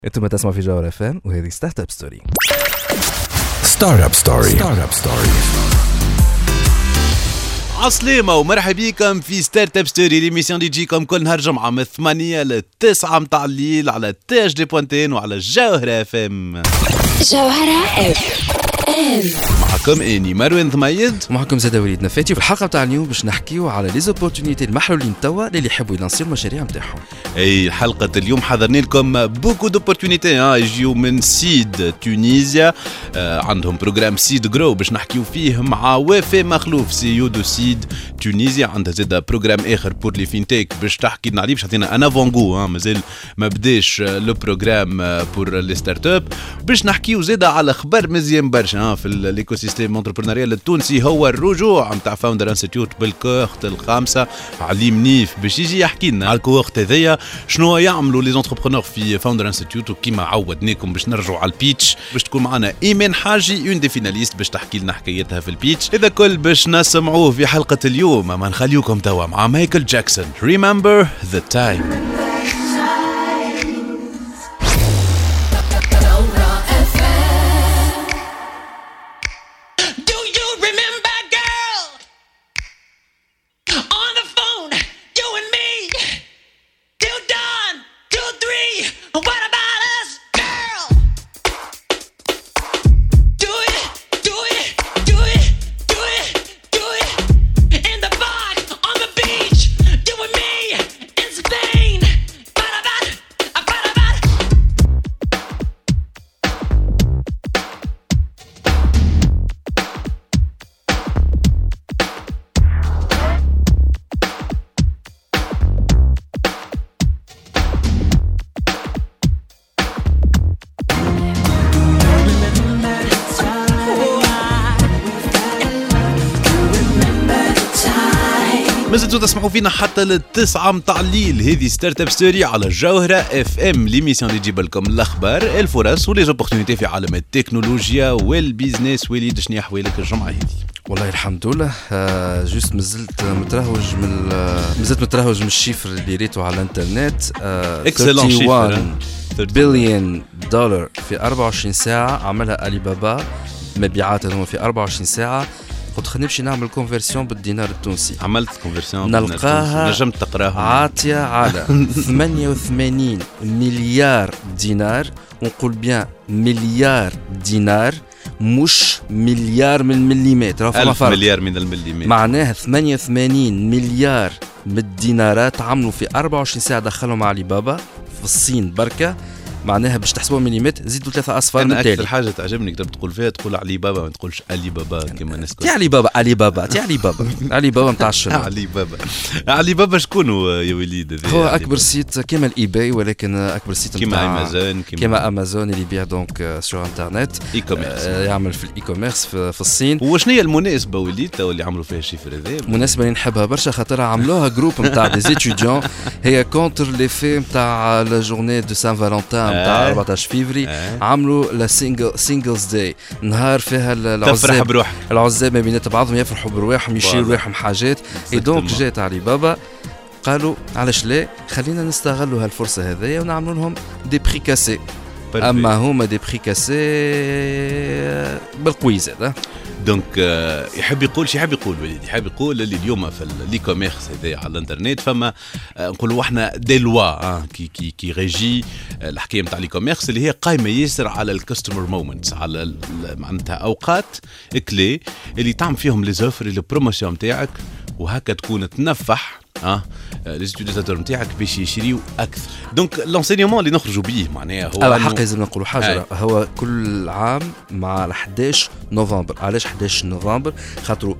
انتم تسمعوا في جوهر اف ام وهذه ستارت اب ستوري. ستارت اب ستوري. عسلامة ومرحبا بكم في ستارت اب ستوري، ليميسيون اللي تجيكم كل نهار جمعة من 8 ل 9 متاع الليل على تي اش دي بوانتين وعلى جوهرة اف ام. جوهرة اف ام معكم اني مروان ضميد ومعكم زاد وليد نفاتي. وفي الحلقة تاع اليوم باش نحكيو على لي زوبورتونيتي المحلولين توا اللي يحبوا يلانسيو المشاريع نتاعهم. اي حلقة اليوم حضرنا لكم بوكو دوبورتونيتي يجيو من سيد تونيزيا، عندهم بروجرام سيد جرو باش نحكيو فيه مع وفاء مخلوف سي يو دو سيد تونيزيا. عندها زاد بروجرام اخر بور لي فينتيك باش تحكي لنا عليه، باش تعطينا ان افونغو مازال ما بداش لو بروجرام بور لي ستارت اب. باش نحكيو زاد على خبر مزيان برشا في الايكو سيستيم انتربرونيريال التونسي، هو الرجوع نتاع فاوندر انستيتيوت بالكوخت الخامسة. علي منيف باش يجي يحكي لنا على الكوخت هذيا شنو يعملوا لي زونتربرونور في فاوندر انستيتيوت، وكيما عودناكم باش نرجعوا على البيتش باش تكون معنا ايمان حاجي اون دي فيناليست باش تحكي لنا حكايتها في البيتش. اذا كل باش نسمعوه في حلقة اليوم، ما نخليوكم توا مع مايكل جاكسون Remember the Time. مازلتوا تسمعوا فينا حتى للتسعة متاع الليل. هذه ستارت اب ستوري على جوهرة اف ام، ليميسيون اللي تجيب لكم الاخبار الفرص ولي زوبورتونيتي في عالم التكنولوجيا والبيزنس. وليد شنو احوالك الجمعة هذه؟ والله الحمد لله. جوست مازلت مترهوج من الشيفر اللي ريته على الانترنت. اكسلون شيفر، بليون دولار في 24 ساعة عملها علي بابا مبيعاتهم في 24 ساعة. قلت خلينا نمشي نعمل كونفرسيون بالدينار التونسي. عملت كونفرسيون نلقاها نجمت تقراها عاطية على 88 مليار دينار. ونقول بيان مليار دينار مش مليار من المليمتر، 1000 مليار من المليمتر. معناها 88 مليار من الدينارات عملوا في 24 ساعة دخلهم علي بابا في الصين بركة. معناها باش تحسبوا مليمتر زيدوا 3 أصفار من أنا أكثر حاجة تعجبني كتب تقول فيها تقول علي بابا، ما تقولش علي بابا كما الناس تي علي بابا علي بابا متاع الشنو. علي بابا شكونه يا وليد؟ هو أكبر سيت كما الإيباي، ولكن أكبر سيت كما أمازون اللي يبيع دونك سور انترنت، يعمل في الإي كوميرس في الصين. وشنو هي المناسبة وليد اللي عملوا فيها الشيفر هذا؟ مناسبة اللي نحبها برشا خاطرها عملوها جروب نتاع دي ستوديون، هي كونتر لي في نتاع لا جورني دو سان فالنتين نتاع 14 فيفري. عملوا لا سينجلز داي، نهار فيها العزاب ما بينات بعضهم يفرحوا برواحهم يشيروا رواحهم حاجات. دونك جات علي بابا قالوا علاش لا خلينا نستغلوا هالفرصة هذيا ونعملوا لهم دي بري كاسي. اما هما دي بري كاسي بالقويز هذا. دونك يحب يقول وليد، يحب يقول اللي اليوم في الاي كوميرس هذا على الانترنت فما نقولوا احنا دي لوا كي ريجي الحكايه نتاع الاي كوميرس اللي هي قايمه ياسر على الكاستمر مومنتس، على معناتها اوقات كلي اللي تعمل فيهم لي زوفر لي بروموسيون نتاعك، وهكا تكون تنفح لي ستوديوزاتور نتاعك باش يشريو اكثر. دونك لونسينيومون اللي نخرجوا به معناها هو حق لازم نقولوا حاجه. هو كل عام مع 11 نوفمبر. علاش 11 نوفمبر؟ خاطروا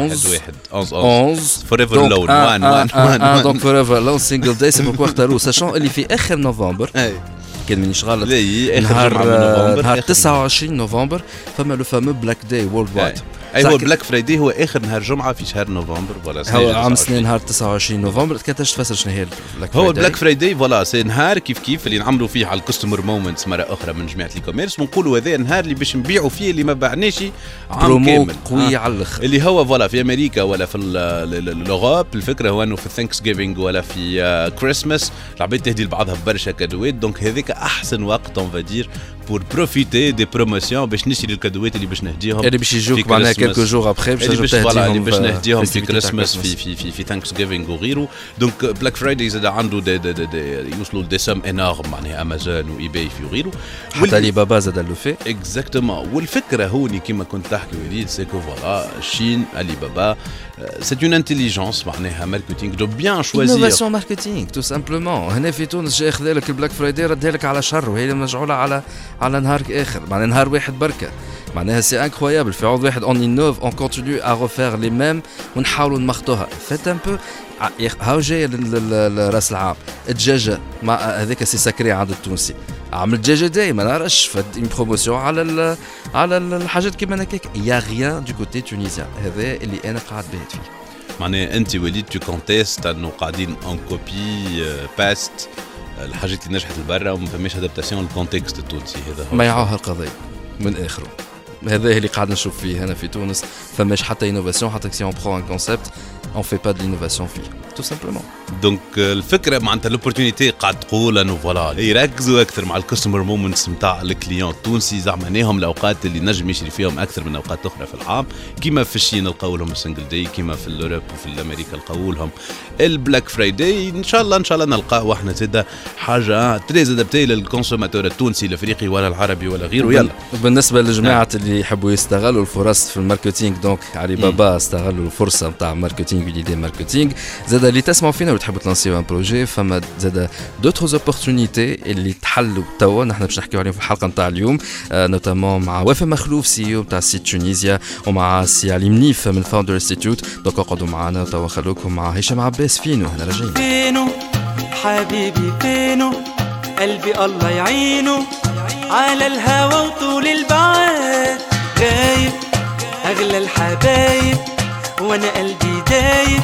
11 فوريفر لون 1 دونك فوريفر لون سينجل داي. سي بوركو اختاروه ساشون اللي في اخر نوفمبر كان مانيش غلط، نهار 29 نوفمبر فما لو فامو بلاك داي وورلد وايد. اي هو بلاك فرايداي هو اخر نهار جمعه في شهر نوفمبر ولا هو عام سنه نهار 29 نوفمبر. كنتش تفسر شنو هي البلاك فرايداي؟ هو البلاك فرايداي فوالا سي نهار كيف اللي نعملوا فيه على الكاستمر مومنتس مره اخرى من جماعه الكوميرس كوميرس، ونقولوا هذا النهار اللي باش نبيعوا فيه اللي ما باعناش عام كامل قوي على الاخر. اللي هو فوالا في امريكا ولا في الاوروب الفكره هو انه في ثانكس جيفينغ ولا في كريسماس العباد تهدي لبعضها برشا كادوات، دونك هذاك احسن وقت اون فادير بور بروفيتي دي بروموسيون باش نشري الكادوات اللي باش نهديهم اللي باش يجوك معناها كيلكو جور ابخي اللي باش نهديهم في كريسماس في ثانكس جيفينغ وغيره. دونك بلاك فرايداي زاد عنده يوصلوا دي سوم انورم معناها امازون واي باي في وغيره، حتى لي بابا زاد لو في اكزاكتومون. والفكره هوني كيما كنت تحكي وليد سيكو فوالا الشين علي بابا سي اون انتيليجنس معناها ماركتينغ دو بيان شوازير انوفاسيون ماركتينغ تو سامبلومون. هنا في تونس جا ياخذ لك البلاك فرايداي ردها لك على شر، وهي مجعوله على نهار اخر معناها نهار واحد بركه معناها سي انكرويابل. في عوض واحد اون انوف اون كونتينيو ا ريفير لي ميم ونحاولوا نمخطوها فات ان بو. هاو جاي راس العام الدجاجه مع هذاك سي ساكري عند التونسي، عمل الدجاجه دائما نعرفش فد اون بروموسيون على الحاجات كيما هكاك. يا غيان دو كوتي تونيزيان، هذا اللي انا قاعد باهت فيه. معناها انت وليد تو كونتيست انه قاعدين اون كوبي باست الحاجات اللي نجحت لبرا وما فماش ادابتاسيون للكونتكست التونسي. هذا هو ما يعوها القضيه من اخره. هذا اللي قاعد نشوف فيه هنا في تونس، فماش حتى انوفاسيون، حتى سي اون برو ان كونسيبت اون في با دو لانوفاسيون فيه تو سامبلومون. دونك الفكره معناتها لوبورتونيتي قاعد تقول انه فوالا يركزوا اكثر مع الكاستمر مومنتس نتاع الكليون التونسي، زعمناهم الاوقات اللي نجم يشري فيهم اكثر من اوقات اخرى في العام، كيما في الشين نلقاو لهم السنجل داي، كيما في الاوروب وفي امريكا نلقاو لهم البلاك فرايداي. ان شاء الله نلقاو احنا زاده حاجه تريز ادابتي للكونسوماتور التونسي الافريقي ولا العربي ولا غيره. يلا بالنسبه للجماعه اللي يحبوا يستغلوا الفرص في الماركتينغ، دونك علي بابا استغلوا الفرصه نتاع ماركتينغ وليدي ماركتينغ. زاد اللي تسمعوا فينا وتحبوا تلانسيو ان بروجي، فما زاد دوترز اوبورتونيتي اللي تحلوا توا نحن باش نحكيو عليهم في الحلقه نتاع اليوم، نوتامون مع وفاء مخلوف سي او نتاع سيت تونيزيا، ومع سي علي منيف من فاوندر انستيتوت. دونك اقعدوا معنا توا، خلوكم مع هشام عباس فينو. احنا راجعين. فينو حبيبي فينو قلبي الله يعينه على الهوى وطول البعاد غايب اغلى الحبايب وانا قلبي دايب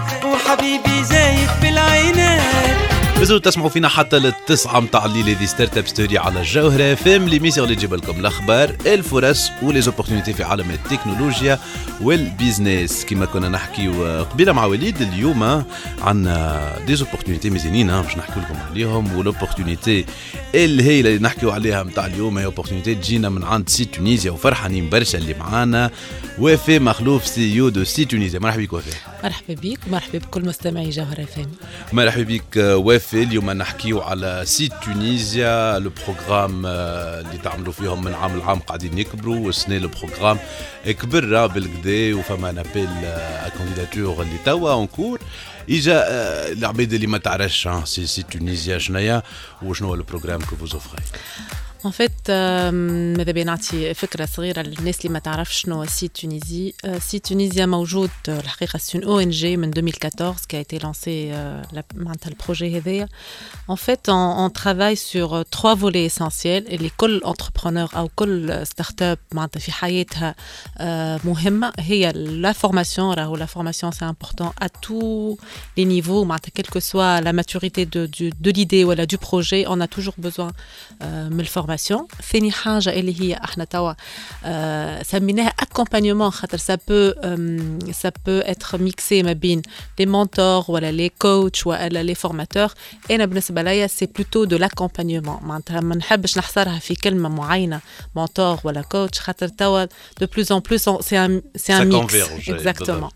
وحبيبي زايد في العينات. بزو تسمعوا فينا حتى للتسعة متاع الليل دي ستارت اب ستوري على الجوهرة فيم ليميسيون اللي تجيب لكم الاخبار الفرص وليزوبورتونيتي في عالم التكنولوجيا والبيزنس. كما كنا نحكي قبيله مع وليد، اليوم عندنا ديزوبورتونيتي مزيانين باش نحكي لكم عليهم. والاوبورتونيتي اللي هي اللي نحكيو عليها متاع اليوم هي اوبورتونيتي تجينا من عند سي تونيزيا، وفرحانين برشا اللي معانا وفاء مخلوف سي او دو سي تونيزيا. مرحبا بك وفاء. مرحبا بك ومرحبا بكل مستمعي جوهرة فهم. مرحبا بك وفاء. اليوم نحكيو على سيت تونيزيا، لو بروغرام اللي تعملوا فيهم من عام لعام قاعدين يكبروا، والسنه لو بروغرام كبر بالكدا وفما نابيل كانديداتور اللي توا اونكور. اجا العباد اللي ما تعرفش سي تونيزيا شناهي وشنو هو لو بروغرام كو فوز اوفري. En fait, ماذا بيا نعطي فكرة صغيرة للناس اللي ما تعرفش شنو سي تونيزي. سي تونيزيا موجود الحقيقة سي اون ONG من 2014 qui a été lancé معناتها البروجي هذايا. En fait, on travaille sur 3 volets essentiels اللي كل entrepreneur أو كل ستارت-اب معناتها في حياتها مهمة. هي la formation. راهو la formation c'est important à tous les niveaux معناتها quelle que soit la maturité de l'idée ولا du projet, on a toujours besoin من الفورماسيون. ثاني حاجة اللي هي احنا توا سميناها accompagnement خاطر ça peut être mixé ما بين les mentors ولا les coachs ولا les formateurs. أنا بالنسبة ليا c'est plutôt de l'accompagnement معناتها ما نحبش نحصرها في كلمة معينة mentor ولا coach خاطر توا de plus en plus c'est un mix. Exactement.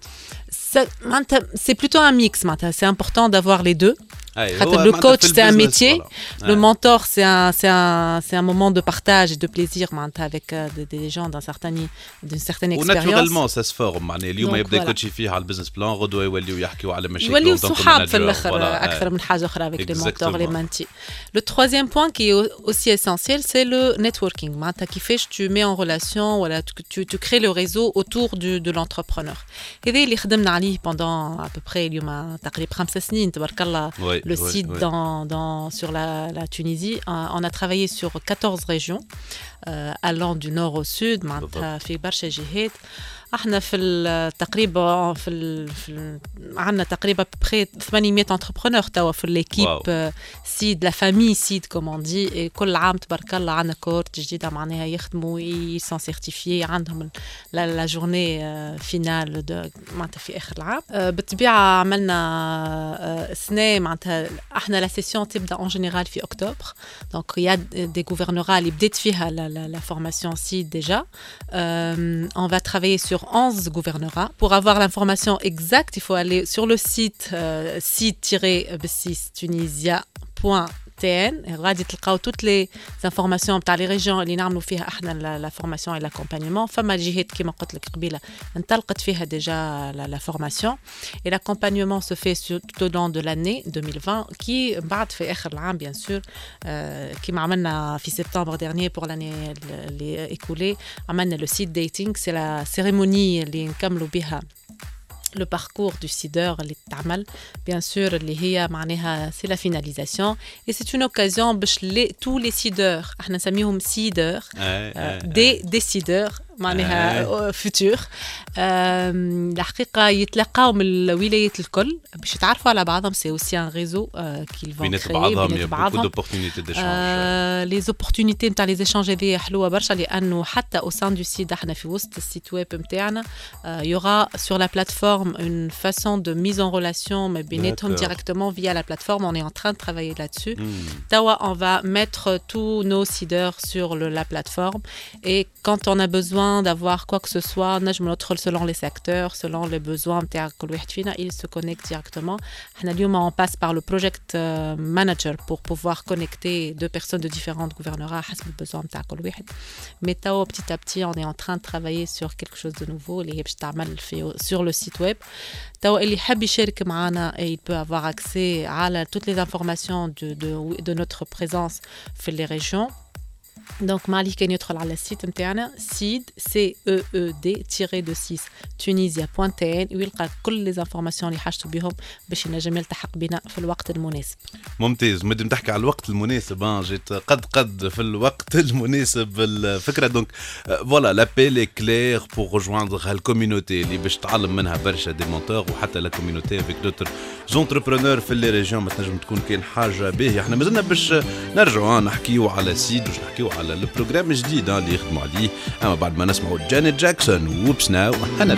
C'est plutôt un mix معناتها c'est important d'avoir les deux. Le coach c'est un métier, le mentor c'est un moment de partage et de plaisir avec des gens d'une certaine expérience. وناتورالمون ça se forme معناها اليوم يبدا يكوتشي فيه على البزنس بلان، غدوه يوليو يحكيوا على مشاكل يوليو صحاب في الاخر اكثر من حاجه اخرى avec les mentors les mentis. Le troisième point qui est aussi essentiel c'est le networking معناتها كيفاش tu mets en relation ولا tu crées le réseau autour de l'entrepreneur. هذا اللي خدمنا عليه pendant à peu près اليوم تقريبا 5 سنين تبارك الله. Le site sur la Tunisie, on a travaillé sur 14 régions, allant du nord au sud, في برشا جهات. احنا في تقريبا عندنا تقريبا بري 800 انتربرونور توا في ليكيب سيد لا فامي سيد كومون دي. كل عام تبارك الله عندنا كورت جديده معناها يخدموا يسون سيرتيفيي عندهم لا جورني فينال معناتها في اخر العام. بالطبيعه عملنا سنه معناتها احنا لا سيسيون تبدا اون جينيرال في اكتوبر. دونك يا دي غوفرنورا اللي بدات فيها لا فورماسيون سيد ديجا. On va travailler sur 11 gouvernorats. Pour avoir l'information exacte, il faut aller sur le site site-tunisia.tn. غادي تلقاو toutes les informations تاع les régions اللي نعملوا فيها احنا la formation et l'accompagnement. فما جهات كما قلت لك قبيله انطلقت فيها déjà la formation et l'accompagnement se fait tout au long de l'année 2020 qui بعد في اخر العام bien sûr كما عملنا في septembre dernier pour l'année écoulée عملنا le seed dating. c'est la cérémonie اللي نكملوا بها le parcours du seeder اللي تعمل bien sûr اللي هي معناها c'est la finalisation et c'est une occasion باش tous les seeders احنا نسميهم seeders des seeders معناها فيتور الحقيقه يتلاقاو من الولايات الكل باش يتعرفوا على بعضهم. سي اوسي ان ريزو كيل فون بينات بعضهم دوبورتونيتي ديشانج. لي زوبورتونيتي نتاع لي زيشانج هذه حلوه برشا لانه حتى او سان دو سيد احنا في وسط السيت ويب نتاعنا يورا سور لا بلاتفورم اون فاسون دو ميز ان ريلاسيون ما بيناتهم ديريكتومون فيا لا بلاتفورم. On est en train de travailler là-dessus. Tawa, on va mettre tous nos seeders sur la plateforme et quand on a besoin d'avoir quoi que ce soit نجم ندخل selon les secteurs selon les besoins نتاع كل واحد فينا il se connecte directement. احنا اليوم on passe par le project manager pour pouvoir connecter deux personnes de différentes gouvernorats حسب البزوان نتاع كل واحد. mais توا petit à petit on est en train de travailler sur quelque chose de nouveau اللي هي باش تعمل في sur le site web. توا اللي حاب يشارك معنا il peut avoir accès على toutes les informations de notre présence في les régions. Donc Mali كان يدخل على السيت نتاعنا seed CEED-6 tunisia.tn ويلقى كل لي زانفورماسيون اللي حاجته بهم باش ينجم يلتحق بنا في الوقت المناسب. ممتاز. مادام تحكي على الوقت المناسب جيت قد في الوقت المناسب الفكره. دونك فوالا لابيل اي كلير بور rejoindre هالكوميونيتي اللي باش تعلم منها برشا دي مونتور وحتى لا كوميونيتي افيك دوتر زونتربرونور في لي ريجيون ما تنجم تكون كاين حاجه باهيه. احنا مازلنا باش نرجعوا نحكيو على سيد باش نحكيو على البروجرام الجديد اللي يخدموا عليه. اما بعد ما نسمعوا جانيت جاكسون ووبس ناو انا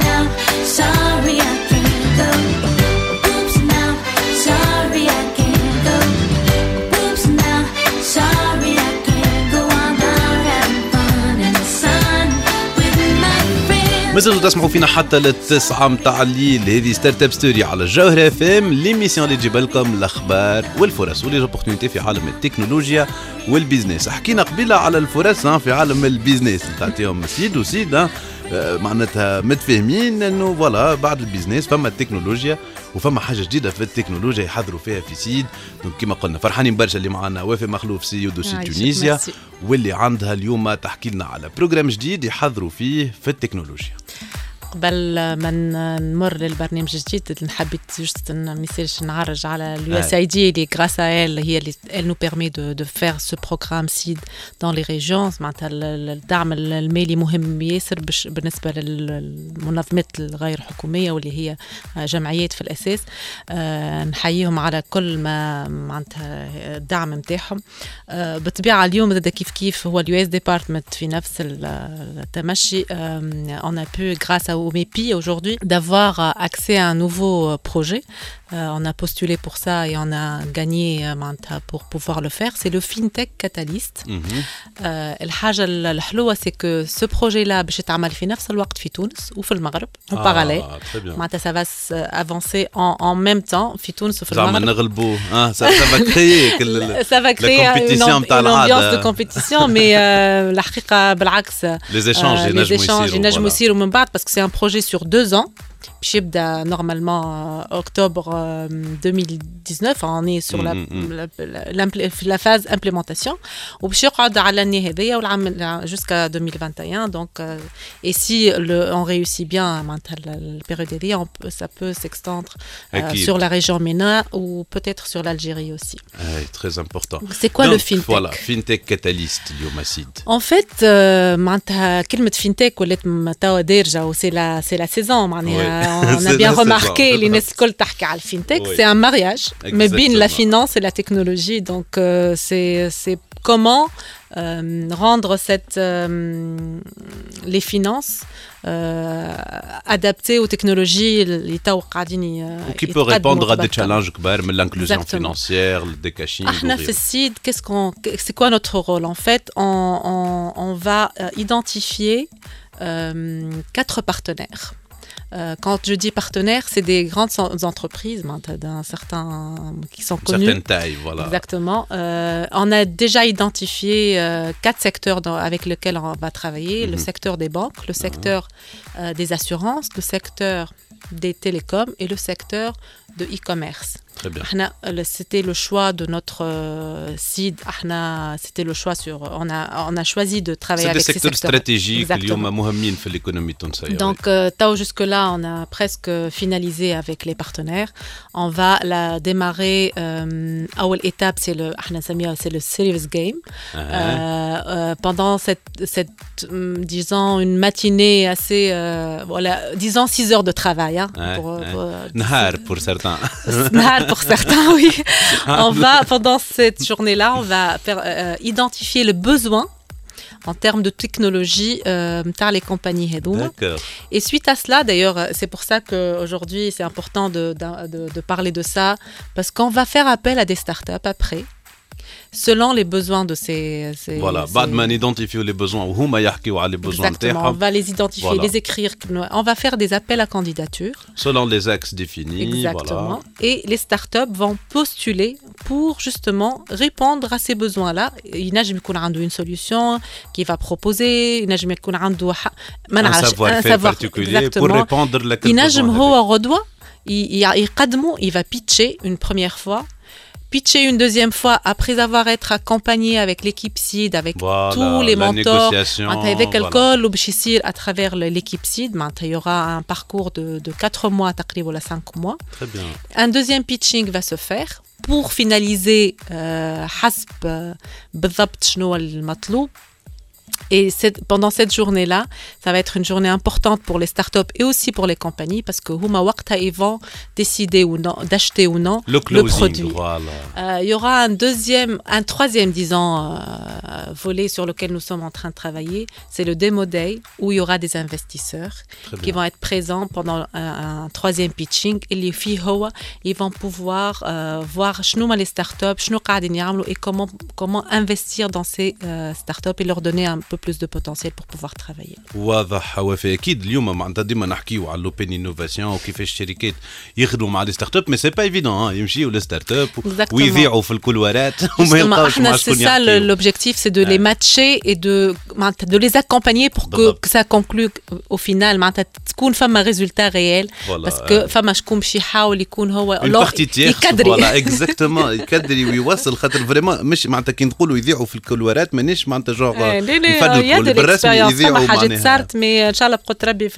مازالوا تسمعوا فينا حتى للتسعة متاع الليل. هذه ستارت اب ستوري على الجوهرة اف ام ليميسيون اللي تجيب لكم الاخبار والفرص وليزوبورتونيتي في عالم التكنولوجيا والبيزنس. حكينا قبيله على الفرص في عالم البيزنس تعطيهم سيد وسيد معناتها متفاهمين انه فوالا بعد البيزنس فما التكنولوجيا وفما حاجه جديده في التكنولوجيا يحضروا فيها في سيد. دونك كما قلنا فرحانين برشا اللي معنا وافي مخلوف سي يو دو سي تونيزيا واللي عندها اليوم تحكي لنا على بروجرام جديد يحضروا فيه في التكنولوجيا. قبل ما نمر للبرنامج الجديد نحبيت جوست ميساج نعرج على اليو اس اي دي اللي غراس ال هي اللي elle nous permet de faire ce programme SEED dans les régions. معناتها الدعم المالي مهم ياسر بالنسبه للمنظمات الغير حكوميه واللي هي جمعيات في الاساس. نحييهم على كل ما معناتها الدعم نتاعهم. بالطبيعه اليوم زاد كيف هو اليو اس ديبارتمنت في نفس التمشي. on a pu grâce au MEPI aujourd'hui d'avoir accès à un nouveau projet. On a postulé pour ça et on a gagné pour pouvoir le faire. C'est le FinTech Catalyst. الحاجة الحلوة c'est que ce projet-là باش يتعمل في نفس الوقت في تونس وفي المغرب en parallèle. معناتها ça va avancer en même temps في تونس وفي المغرب. زعما نغلبوا ça va créer ça va créer une ambiance de compétition mais الحقيقة بالعكس les échanges ينجموا يصيروا من بعد parce que c'est un projet sur 2 ans باش يبدا normalement octobre 2019 on est sur la phase implémentation وباش يقعد على النهاية هذيا والعام jusqu'à 2021 donc et si on réussit bien معناتها البيريود هذيا ça peut s'extendre sur la région MENA ou peut-être sur l'Algérie aussi. Très important. C'est quoi le fintech? Voilà, fintech catalyst اليوم سيد. En fait معناتها كلمة fintech ولات توا دارجة و c'est la saison معناها on a bien remarqué les ناس الكل تحكي على الفينتك c'est un mariage ما بين la finance et la technologie donc c'est comment rendre les finances adaptées aux technologies اللي تو قاعدين qui peut répondre à des challenges كبار من l'inclusion financière le décaching. احنا في السيد c'est quoi notre rôle en fait on va identifier 4 partenaires. Quand je dis partenaires, c'est des grandes entreprises d'un certain qui sont connues. Certaine taille, voilà. Exactement. On a déjà identifié 4 secteurs avec lesquels on va travailler. Le secteur des banques, le secteur des assurances, le secteur des télécoms et le secteur de e-commerce. Très bien. C'était le choix de notre seed. C'était le choix sur. On a choisi de travailler avec ces secteurs stratégiques اليوم مهمين في l'économie التونسية. Donc, jusque là, on a presque finalisé avec les partenaires. On va la démarrer. أول étape, c'est le serious game. Pendant cette disons une matinée assez disons 6 heures de travail. نهار pour certains. Pour certains, oui. On va, pendant cette journée-là, on va faire, identifier le besoin en termes de technologie par les compagnies Hedouma. Et suite à cela, d'ailleurs, c'est pour ça qu'aujourd'hui, c'est important de parler de ça, parce qu'on va faire appel à des startups après. Selon les besoins de ces voilà, بعد ما نيدونتيفيو les besoins وهما يحكيوا على les besoins نتاعهم. On va les identifier, voilà. Les écrire, on va faire des appels à candidature selon les axes définis. Exactement. Voilà. Et les startups vont postuler pour justement répondre à ces besoins-là. ينجم يكون عنده une solution qui va proposer, ينجم يكون عنده un savoir-faire particulier pour répondre لك الbesoin. ينجم هو غدوة يقدمه, il va pitcher une première fois. Pitcher une deuxième fois après avoir été accompagné avec l'équipe SID, avec tous les mentors, avec l'école ou à travers l'équipe SID, il y aura un parcours de 4 mois, 5 mois. Très bien. Un deuxième pitching va se faire pour finaliser حسب بالضبط شنو المطلوب. Et pendant cette journée-là, ça va être une journée importante pour les startups et aussi pour les compagnies parce que huma waqta ils vont décider ou non d'acheter ou non le produit. Voilà. Il y aura un troisième, disons, volet sur lequel nous sommes en train de travailler. C'est le Demo Day où il y aura des investisseurs qui vont être présents pendant un troisième pitching. Et les filles, ils vont pouvoir voir les startups, et comment investir dans ces startups et leur donner un peu plus de potentiel pour pouvoir travailler. واضح وفي اكيد اليوم معناتها ديما نحكيو على لوبين انوفاسيون وكيفاش الشركات يخدموا مع لي ستارت اب مي سي با ايفيدون يمشيو لي ستارت اب ويذيعوا في الكولوارات وما يلقاوش مع شكون يحكي. C'est ça l'objectif, c'est de les matcher et de les accompagner pour que ça conclue au final معناتها تكون فما résultat réel parce que فما شكون باش يحاول يكون هو يكدري فوالا اكزاكتومون يكدري ويوصل خاطر فريمون مش معناتها كي نقولوا يذيعوا في الكولوارات مانيش معناتها جوغ يا دي الاكسبيرينس فما حاجات صارت مي ان شاء الله بقدر ربي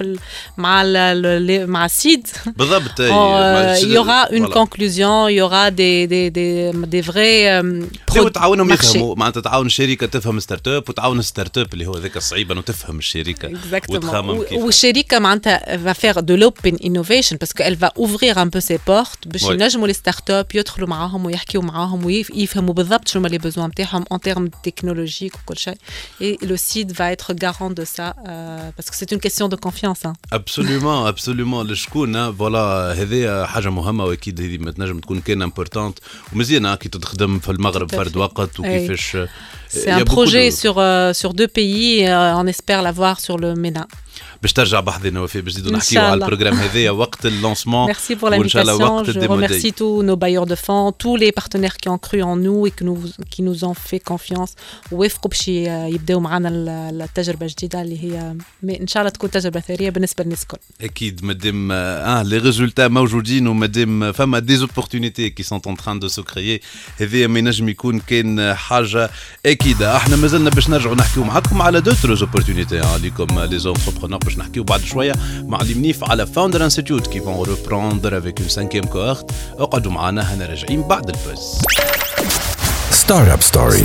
مع السيد بالضبط. il y aura une conclusion, il y aura des vrais وتعاونهم يفهموا معناتها تعاون الشركه تفهم ستارت اب وتعاون الستارت اب اللي هو ذاك الصعيب انه تفهم الشركه وتخمم كيف والشركه معناتها va faire de l'open innovation parce qu'elle va ouvrir un peu ses portes باش ينجموا لي ستارت اب يدخلوا معاهم ويحكيوا معاهم ويفهموا بالضبط شنو لي بيزوان نتاعهم en termes technologiques وكل شيء. Et le site va être garant de ça parce que c'est une question de confiance. Absolument, absolument. الشكون فوالا هذه حاجة مهمة وأكيد هذه ما تنجم تكون كان امبورتانت ومزيانة كي تخدم في المغرب فرد وقت وكيفاش. C'est un projet sur 2 pays. On espère l'avoir sur le MENA. باش ترجع بحذنا وفاء باش نزيدوا نحكيوا على البروغرام هذايا وقت اللونسمون. Merci pour l'invitation. Je remercie tous nos bailleurs de fonds, tous les partenaires qui ont cru en nous et qui nous ont fait confiance ووافقوا باش يبداو معنا التجربه الجديده اللي هي ان شاء الله تكون تجربه ثريه بالنسبه للناس الكل. اكيد مادام لي ريزولتا موجودين ومادام فما دي زوبورتونيتي كي سون ان تران دو سو كريي هذايا ما ينجم يكون كان حاجه اكيده. احنا مازلنا باش نرجعوا نحكيو معكم على دوتر زوبورتونيتي ليكم لي زونتربرونور باش نحكيو بعد شويه مع اللي منيف على فاوندر انستيتيوت كي فون ريبروندر افيك اون سانكيام كوهورت. اقعدوا معنا هنا راجعين بعد البوز. ستارت اب ستوري.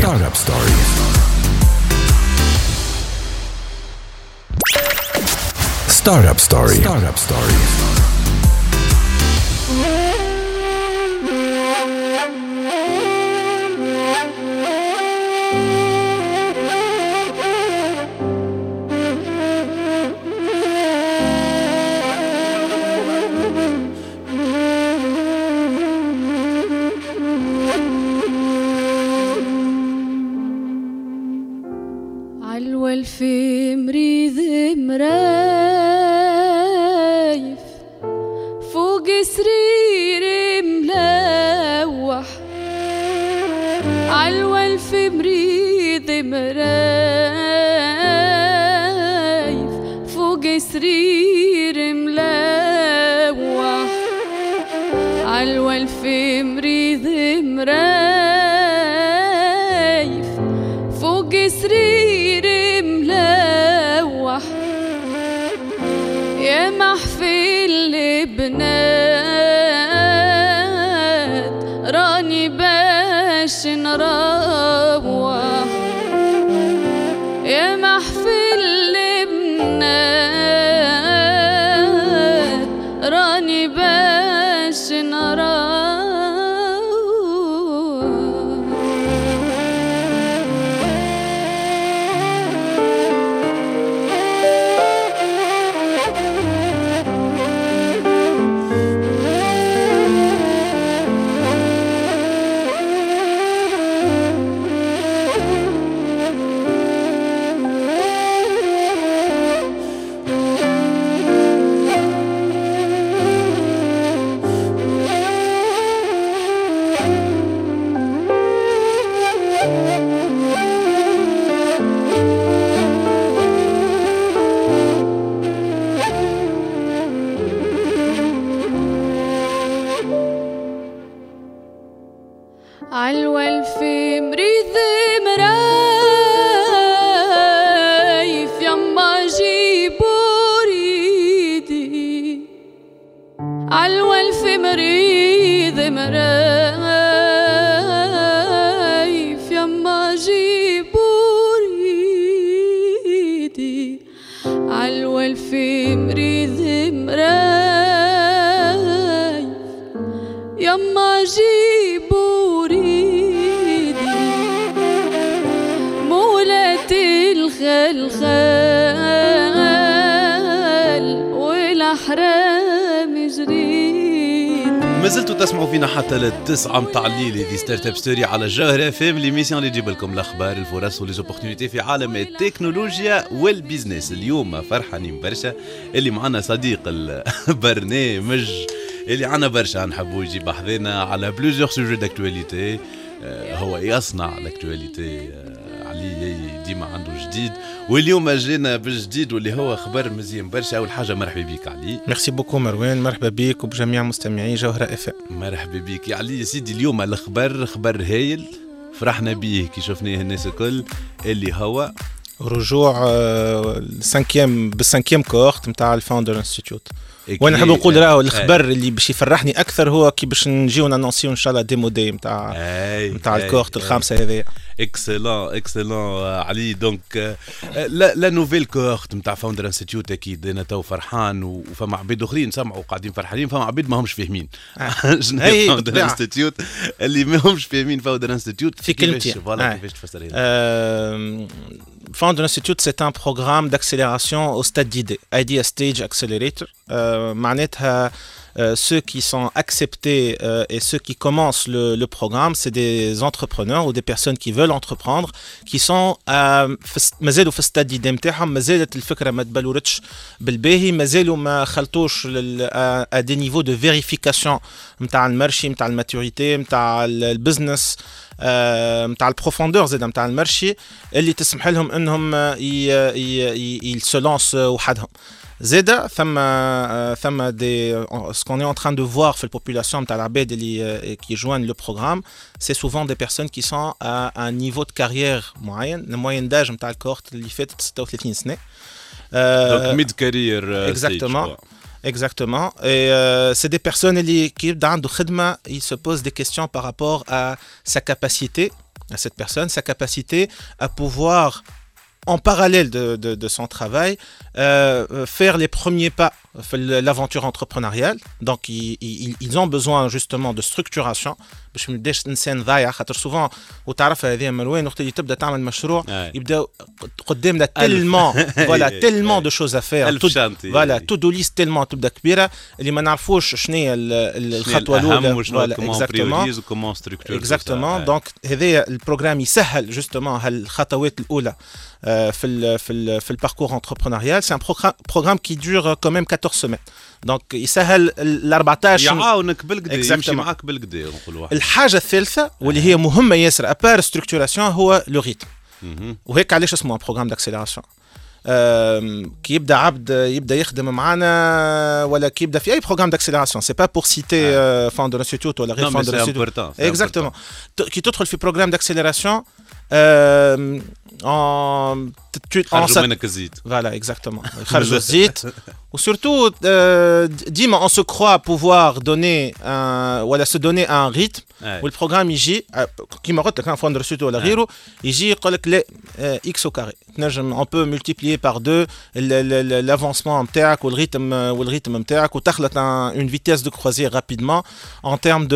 Startup Story. علوى في مريض مرايف فوق سرير ملوح. علوى في مريض مرايف فوق سرير ملوح. علوى في مريض مرايف فوق سرير ملوح. يا محفل البنات راني باش نروح. يا محفل البنات راني باش نروح. عالوال في مريض مرايف يما جيبوا ريدي. عالوال في مريض مرايف يما جيبوا ريدي. عالوال في مريض مرايف يما جيبوا ريدي. مولاتي الخلخال والأحرام جريدي. ما زلتوا تسمعوا فينا حتى للتسعة متاع الليل. هذه ستارت اب ستوري على الجوهرة فام ليميسيون اللي تجيب لكم الاخبار الفرص وليزوبورتونيتي في عالم التكنولوجيا والبيزنس. اليوم فرحانين برشا اللي معنا صديق البرنامج اللي عنا برشا نحبوا يجي بحذنا على بلوزيور سوجي داكتواليتي. هو يصنع الاكتواليتي علي ديما عنده جديد واليوم جينا بالجديد واللي هو خبر مزيان برشا. اول حاجه مرحبا بك علي. ميرسي بوكو مروان. مرحبا بك وبجميع مستمعي جوهرة اف. مرحبا بك يا علي. سيدي اليوم الخبر خبر هايل فرحنا بيه كي شفناه الناس الكل اللي هو رجوع بالسانكيام كورت نتاع الفاوندر انستيتيوت. وانا نحب نقول راهو الخبر اللي باش يفرحني اكثر هو كي باش نجيو نانونسيو ان شاء الله ديمو داي نتاع الكورت الخامسه هذه. اكسلون علي. دونك لا نوفيل كورت نتاع فاوندر انستيتيوت اكيد انا تو فرحان وفما عباد اخرين سمعوا قاعدين فرحانين. فما عباد ما همش فاهمين شنو هي فاوندر انستيتيوت اللي ما همش فاهمين فاوندر انستيتيوت في كلمتين. كيفاش تفسرها؟ Founder Institute, c'est un programme d'accélération au stade d'idée, Idea Stage Accelerator. معناتها ceux qui sont acceptés et ceux qui commencent le programme, c'est des entrepreneurs ou des personnes qui veulent entreprendre, qui sont مازالوا في الستاد دي نتاعهم، مازالت الفكره ما تبلورتش بالباهي، مازالوا ما خلطوش à des niveaux de vérification نتاع المارشي، نتاع الماتوريتي، نتاع البزنس، نتاع البروفوندور زاد نتاع المارشي اللي تسمح لهم انهم يسلونس وحدهم. زاده ثم دي ce qu'on est en train de voir في البوبولاسيون نتاع العباد اللي qui joignent le programme, c'est souvent des personnes qui sont à un niveau de carrière معين. الموين داج نتاع الكورت اللي فاتت 36 سنه. Donc mid career. Exactement. Et c'est des personnes qui dans le khidma, ils se posent des questions par rapport à sa capacité, à cette personne, sa capacité à pouvoir, en parallèle de son travail, faire les premiers pas l'aventure entrepreneuriale. Donc ils ont besoin justement de structuration. باش ما نبداش انسان ضايع، خاطر سوفون وتعرفها هذه مروان وقت اللي تبدا تعمل مشروع يبدا قدامنا تيلمون دو شوز افير، فوالا تو دو ليست تيلمون تبدا كبيره اللي ما نعرفوش شنو هي الخطوه الاولى. اكزاكتومون. دونك هذايا البروغرام يسهل جوستومون هالخطوات الاولى في الباركور انتربرونيال. سي ان بروغرام كي دور quand même 14 semaines. دونك يسهل ال 14 يعاونك بالقدا، يمشي معاك بالقدا نقولوا. الحاجه الثالثه واللي هي مهمه ياسر ابار ستركتوراسيون هو لو ريتم. وهيك علاش اسمه بروغرام داكسيليراسيون. كي يبدا عبد يبدا يخدم معنا ولا كي يبدا في اي بروغرام داكسيليراسيون، سي با بور سيتي فاوندر انستيتوت ولا غير فاوندر انستيتوت. اكزاكتومون. كي تدخل في بروغرام داكسيليراسيون خرجوا منك الزيت. Voilà, exactement. خرجوا الزيت. وsurtout ديما on se croit pouvoir donner ولا se donner un rythme. والبروغرام يجي كيما قلت لك كان فوندر سوت ولا غيره يجي يقول لك لا اكس او كاري، تنجم on peut multiplier par 2 l'avancement نتاعك والريتم نتاعك وتخلط une vitesse de croisière rapidement en termes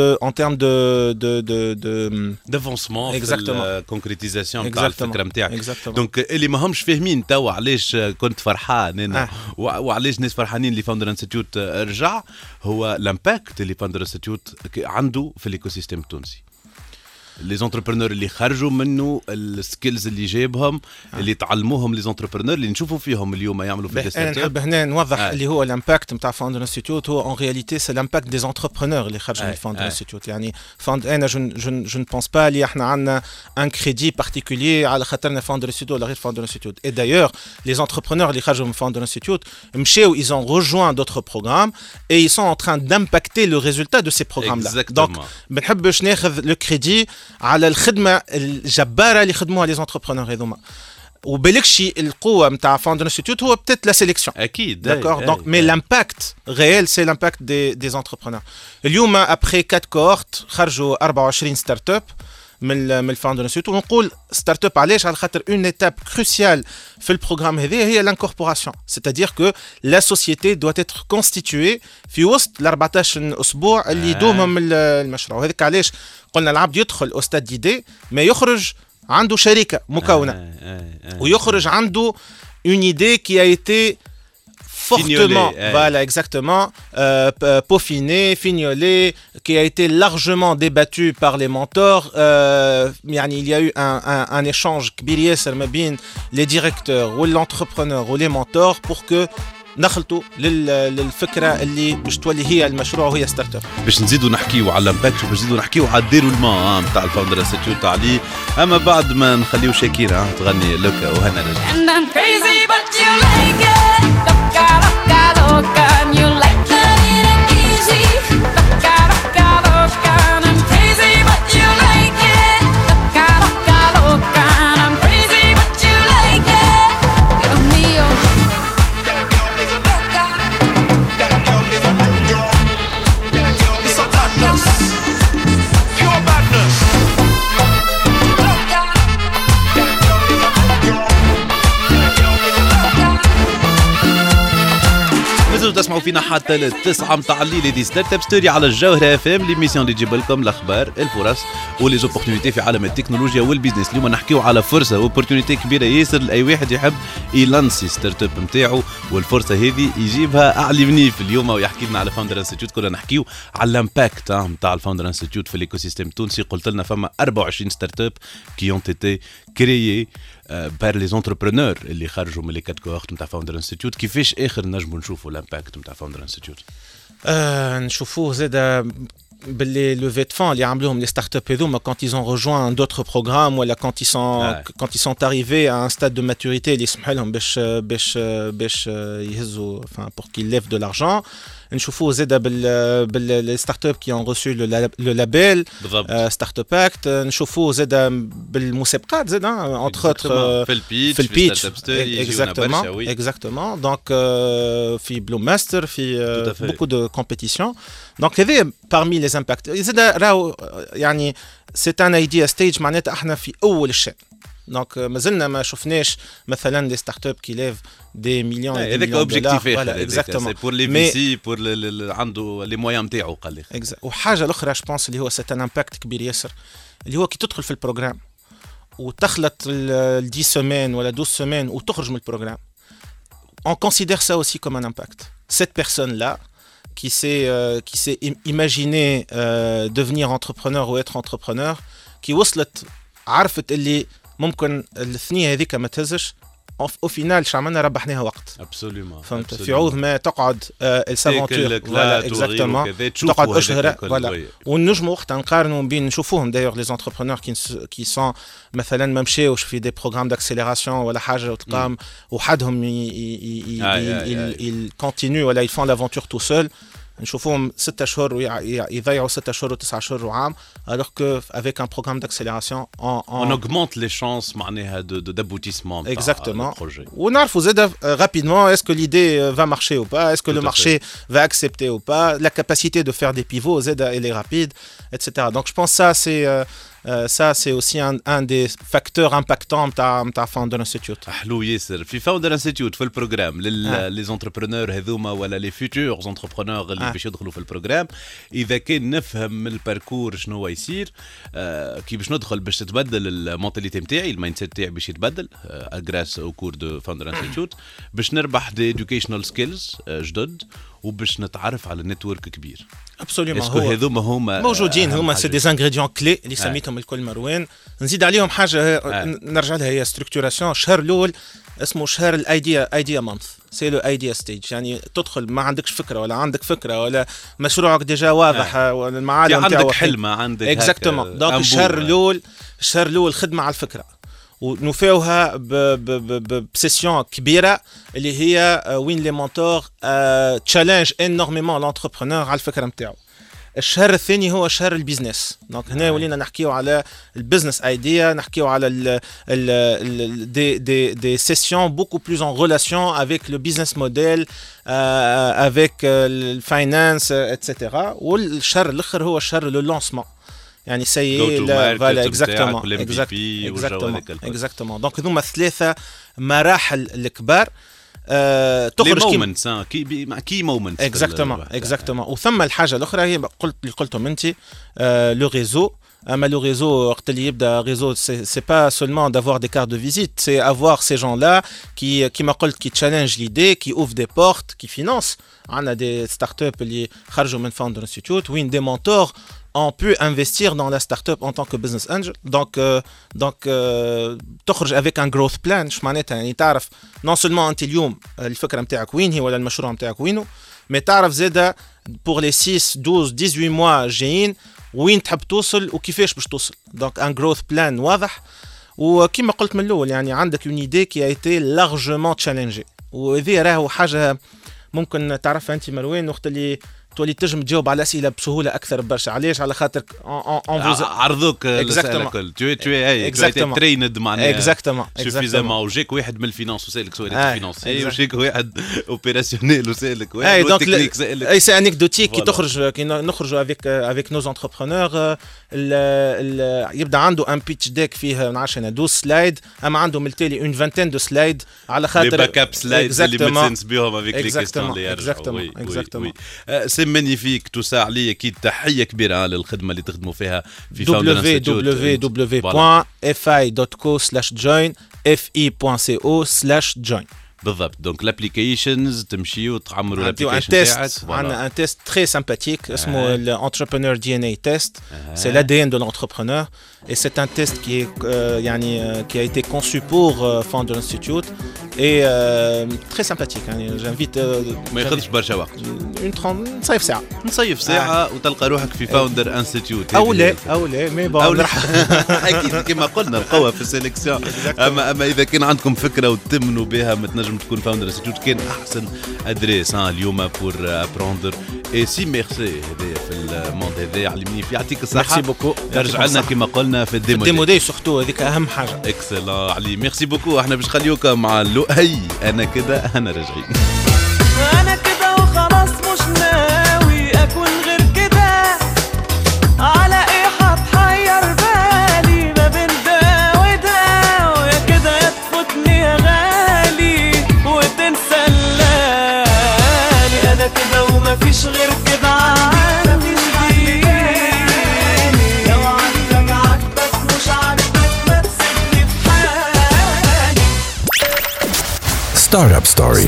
de d'avancement في الكونكريتيزاسيون نتاع الفكره نتاعك. دونك اللي ما همش فاهمين توا علاش كنت فرحان انا وعلاش الناس فرحانين اللي فاوندر انستيتيوت رجع، هو الامباكت اللي فاوندر انستيتيوت عنده في الايكو سيستم التونسي. لي زونتربرونور اللي خرجوا منه، السكيلز اللي جايبهم، اللي تعلموهم لي زونتربرونور اللي نشوفوا فيهم اليوم يعملوا في ستارت اب. نحب هنا نوضح اللي هو الامباكت نتاع فاوندر انستيتيوت هو اون رياليتي سي الامباكت دي زونتربرونور اللي خرجوا من فاوندر انستيتيوت. يعني انا جو ne pense pas اللي احنا عندنا ان كريدي بارتيكولير على خاطرنا فاوندر انستيتيوت ولا غير فاوندر انستيتيوت. اي دايور لي زونتربرونور اللي خرجوا من فاوندر انستيتيوت مشاو ils ont rejoint d'autres programmes et ils sont en train d'impacter le résultat de ces programmes là. Donc ما بنحبش ناخذ لو كريدي على الخدمه الجباره اللي خدموها لي زونتربرونور هذوما، وبالكشي القوه نتاع فاوندر انستيتيوت هو بتات لا سيليكسيون. اكيد داكور. دونك مي لامباكت ريال سي لامباكت دي زونتربرونور. اليوم ابري 4 كورت خرجوا 24 ستارت اب من الفاوندر انستيتيوت. ونقول ستارت اب علاش؟ على خاطر اون ايتاب كروسيال في البروغرام هذا هي لانكوربوراسيون، سيتادير كو لا سوسيتي دو اتر كونستيتوي في وسط ال 14 اسبوع اللي يدومهم المشروع. وهذاك علاش قلنا العبد يدخل او ستاد ديدي ما يخرج عنده شركه مكونه ويخرج عنده اون ايدي كي ا ايتي fortement, voilà, exactement, peaufiné, fignolé, qui a été largement débattu par les mentors. Il y a eu un échange كبير ياسر ما بين les directeurs ou l'entrepreneur ou les mentors pour que نخلطوا للفكره اللي باش تولي هي المشروع وهي ستارت اب. باش نزيدوا نحكيوا على الامباكت وباش نزيدوا نحكيوا على الديرو الما نتاع الفاوندر انستيتيوت عليه، اما بعد ما نخليو شاكيرا تغني لوكا وهنا رجع. تنجموا تسمعوا فينا حتى للتسعة متاع الليل دي ستارت اب ستوري على الجوهرة اف ام، ليميسيون اللي تجيب لكم الاخبار الفرص وليزوبورتينيتي في عالم التكنولوجيا والبيزنس. اليوم نحكيو على فرصة واوبورتينيتي كبيرة ياسر لاي واحد يحب يلانسي ستارت اب نتاعو، والفرصة هذه يجيبها اعلى منيف اليوم ويحكي لنا على فاوندر انستيتيوت. كنا نحكيو على الامباكت نتاع الفاوندر انستيتيوت في الايكو سيستيم التونسي. قلت لنا فما 24 ستارت اب كي اون تيتي كريي بار لي زونتربرونور اللي خرجوا من لي كات كوهورت نتاع فاوندر انستيتيوت. كيفاش اخر نجموا نشوفوا الامباكت نتاع فاوندر انستيتيوت؟ نشوفوه زاد باللي لوفي دو فون اللي عملوهم لي ستارت اب هذوما quand ils ont rejoint d'autres programmes ولا quand ils sont arrivés à un stade de maturité اللي يسمح لهم باش يهزوا pour qu'ils lèvent de l'argent. نشوفوه زاد باللي ستارت اب qui ont reçu le label ستارت اب اكت. نشوفوه زاد بالمسابقات زاد entre autres في البيتش exactement donc في بلو ماستر في beaucoup de compétitions. donc هذا parmi les impacts. زاد راهو يعني c'est un idea stage معناتها احنا في اول الشيء. دونك مازلنا ما شفناش مثلا دي ستارت اب كي ليف دي مليون هذاك اوبجيكتيف اكزاكتومون بور لي في سي بور عنده لي مويان نتاعو قال لي. وحاجه الاخرى جو بونس اللي هو سيت ان امباكت كبير ياسر اللي هو كي تدخل في البروغرام وتخلط ال 10 سيمين ولا 12 سيمين وتخرج من البروغرام. on considère ça aussi comme un impact. Cette personne là qui s'est imaginé devenir entrepreneur ou être entrepreneur qui وصلت عرفت اللي ممكن الثنية هذيك ما تهزش او فينال شو عملنا ربحناها وقت. ابسوليومون فهمت في عوض ما تقعد السافونتور ولا اكزاكتومون تقعد اشهر ولا ونجموا وقتها نقارنوا بين نشوفوهم دايوغ لي زونتربرونور كي سون مثلا ما مشاوش في دي بروغرام داكسيليراسيون ولا حاجه وتلقاهم وحدهم يكونتينيو ولا يفون لافونتور تو سول. نشوفوهم 6 شهور ويضيعوا 6 شهور و9 شهور وعام alors que avec un programme d'accélération on augmente les chances معناها d'aboutissement exactement. ونعرفوا زاد rapidement est-ce que l'idée va marcher ou pas, est-ce que le marché va accepter ou pas, la capacité de faire des pivots زاد elle est rapide etc. donc je pense ça c'est aussi un des facteurs impactants نتاع Founder Institute. حلو ياسر. في Founder Institute في البروجرام لي زونتربرونور هذوما ولا لي فيوتور زونتربرونور اللي باش يدخلوا في البروجرام، اذا كان نفهم من الباركور شنو هو يصير كي باش ندخل باش تتبدل المونتاليتي نتاعي المايند سيت تاعي باش يتبدل غراس او كور دو Founder Institute باش نربح دي educational سكيلز جدد وباش نتعرف على نتورك كبير. ابسوليومون هذوما هما موجودين هما سي دي انغريديون كلي اللي سميتهم الكل مروان. نزيد عليهم حاجه نرجع لها هي ستركتوراسيون. الشهر الاول اسمه شهر الايديا مانث سي لو ايديا ستيج يعني تدخل ما عندكش فكره ولا عندك فكره ولا مشروعك ديجا واضح ولا المعالم تاعو عندك حلم عندك اكزاكتومون. دونك الشهر الاول خدمه على الفكره ونوفيوها بسيسيون كبيره اللي هي وين لي مونتور تشالنج انورميمون لونتربرونور على الفكره نتاعو. الشهر الثاني هو شهر البيزنس. دونك هنا ولينا نحكيو على البيزنس ايديا، نحكيو على des sessions beaucoup plus en relation avec le business model avec le finance etc. والشهر الاخر هو شهر لو لانسمون يعني سي فوالا اكزاكتومون. دونك هذوما 3 مراحل الكبار تخرج كي مومنت اكزاكتومون. وثم الحاجه الاخرى هي قلتهم انت لو ريزو. اما لو ريزو وقت اللي يبدا ريزو سي با سولمون دافوار دي كارت دو فيزيت سي افوار سي جون لا كيما قلت كي تشالنج ليدي كي اوف دي بورت كي فينانس. عندنا دي ستارت اب اللي خرجوا من Founder Institute وين دي مونتور on peut investir dans la start-up en tant que business angel. donc تخرج avec un growth plan. شو معناتها يعني تعرف non seulement انت اليوم الفكره نتاعك وين هي ولا المشروع نتاعك وينه، mais تعرف زاده pour les 6 12 18 mois جايين وين تحب توصل وكيفاش باش توصل. donc un growth plan واضح. وكما قلت من الاول يعني عندك une idée qui a été largement challengée. وهذه راهو حاجه ممكن تعرفها انت مروان وقت اللي تولي تنجم تجاوب على الاسئله بسهوله اكثر برشا. علاش؟ على خاطر عرضوك الاسئله الكل تو اي تريند معناها اكزاكتومون سوفيزامون وجيك واحد من الفينانس وسالك سؤال فينانسي وجيك واحد اوبيراسيونيل وسالك واحد تكنيك سالك اي سي انيكدوتيك كي تخرج كي نخرجوا افيك نوز انتربرونور يبدا عنده ان بيتش ديك فيه نعرفش انا 12 سلايد اما عنده من التالي اون فانتين دو سلايد على خاطر باك اب سلايد اللي متسنس بهم افيك لي كيستيون اللي اكزاكتومون سي مانيفيك تو سا عليا اكيد تحيه كبيره للخدمه اللي تخدموا فيها في www.fi.co/join fi.co/join بالضبط. دونك l'applications تمشيو تعمروا l'application تاعك. عندنا un test très sympathique اسمه l'entrepreneur DNA test. C'est l'ADN de l'entrepreneur et c'est un test qui est qui a été conçu pour Founder Institute et très sympathique. J'invite ما ياخذش برشا وقت. نصيف ساعة وتلقى روحك في فاوندر انستيتيوت او لا مي بون اكيد كما قلنا القوة في السيليكسيون. اما اذا كان عندكم فكرة وتمنوا بها ما تنجم تكون فاوندر انستيتيوت كان احسن ادريس اليوم بور ابروندر اي سي ميرسي هذا في الموند هذا علمني فيه. يعطيك الصحة. ميرسي بوكو. ترجع لنا كما قلنا في الديمو داي سورتو هذيك اهم حاجة. اكسلون علي ميرسي بوكو. احنا باش نخليوكم مع لؤي انا كده انا راجعين. انا كده وخلاص مش ناوي اكون غير كده على ايه هتحير بالي ما بين ده وده ويا كده يا تفوتني يا غالي وتنسى الليالي. انا كده ومفيش غير كده عندي لو عندك عاجبك مش عاجبك ما تسيبني في حالي. Startup Story.